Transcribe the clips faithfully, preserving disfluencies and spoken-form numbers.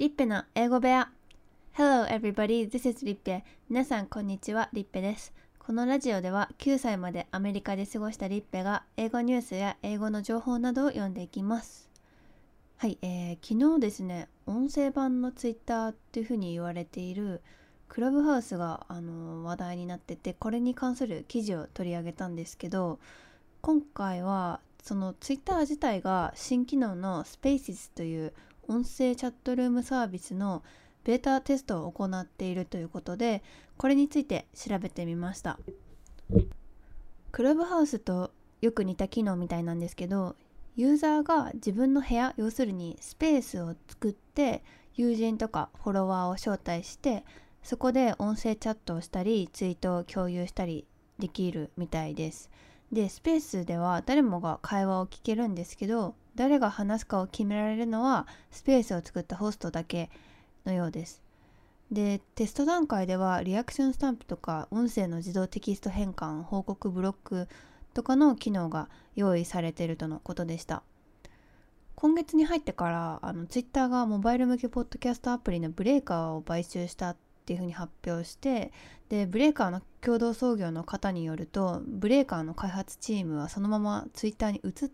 リッペの英語部屋。 Hello everybody, this is リッペ。皆さんこんにちは、リッペです。このラジオではきゅうさいまでアメリカで過ごしたリッペが英語ニュースや英語の情報などを読んでいきます。はい、えー、昨日ですね、音声版のツイッターっていう風に言われているクラブハウスが、あのー話題になってて、これに関する記事を取り上げたんですけど、今回はそのツイッター自体が新機能の Spaces という音声チャットルームサービスのベータテストを行っているということで、これについて調べてみました。クラブハウスとよく似た機能みたいなんですけど、ユーザーが自分の部屋、要するにスペースを作って友人とかフォロワーを招待して、そこで音声チャットをしたりツイートを共有したりできるみたいです。で、スペースでは誰もが会話を聞けるんですけど、誰が話すかを決められるのはスペースを作ったホストだけのようです。で、テスト段階ではリアクションスタンプとか音声の自動テキスト変換、報告ブロックとかの機能が用意されているとのことでした。今月に入ってからあのツイッターがモバイル向けポッドキャストアプリのブレイカーを買収したっていうふうに発表して、でブレイカーの共同創業の方によると、ブレイカーの開発チームはそのままツイッターに移って、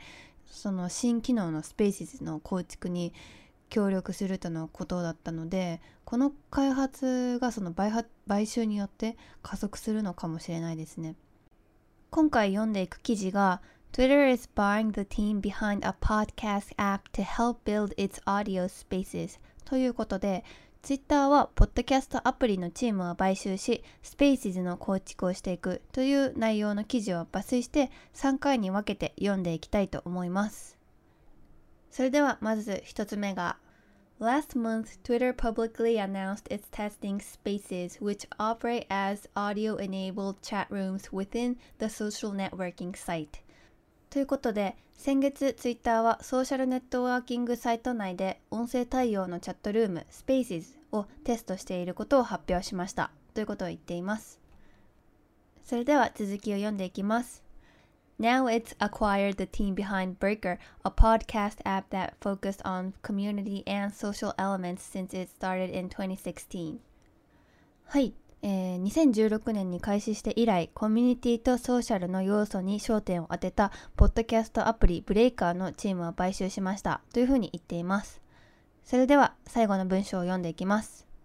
その新機能のスペーシズの構築に協力するとのことだったので、この開発がその 買, 買収によって加速するのかもしれないですね。今回読んでいく記事が Twitter is buying the team behind a podcast app to help build its audio spaces ということで、Twitter はポッドキャストアプリのチームを買収し、Spaces の構築をしていくという内容の記事を抜粋してさんかいに分けて読んでいきたいと思います。それではまず一つ目が、Last month, Twitter publicly announced it's testing Spaces, which operate as audio-enabled chat rooms within the social networking site. ということで、先月ツイッターはソーシャルネットワーキングサイト内で音声対応のチャットルーム Spaces をテストしていることを発表しましたということを言っています。それでは続きを読んでいきます。Now it's acquired the team behind Breaker, a podcast app that focused on community and social elements since it started in twenty sixteen. はい、えー、にせんじゅうろくねんに開始して以来、コミュニティとソーシャルの要素に焦点を当てたポッドキャストアプリブレイカーのチームを買収しましたというふうに言っています。それでは最後の文章を読んでいきます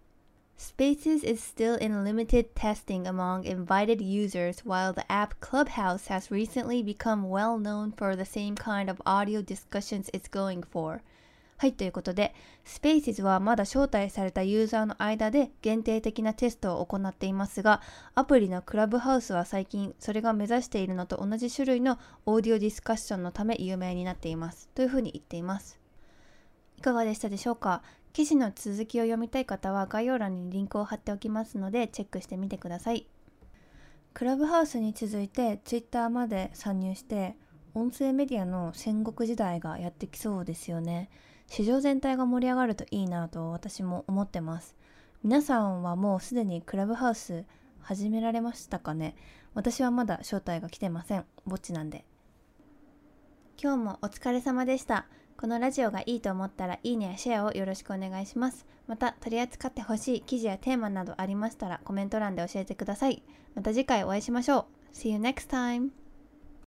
。Spaces is still in limited testing among invited users, while the app Clubhouse has recently become well known for the same kind of audio discussions it's going for. はい、ということで、Spaces はまだ招待されたユーザーの間で限定的なテストを行っていますが、アプリのクラブハウスは最近それが目指しているのと同じ種類のオーディオディスカッションのため有名になっていますというふうに言っています。いかがでしたでしょうか。記事の続きを読みたい方は概要欄にリンクを貼っておきますのでチェックしてみてください。クラブハウスに続いてツイッターまで参入して、音声メディアの戦国時代がやってきそうですよね。市場全体が盛り上がるといいなと私も思ってます。皆さんはもうすでにクラブハウス始められましたかね。私はまだ招待が来てません。ぼっちなんで。今日もお疲れ様でした。このラジオがいいと思ったらいいねやシェアをよろしくお願いします。また取り扱ってほしい記事やテーマなどありましたらコメント欄で教えてください。また次回お会いしましょう。See you next time!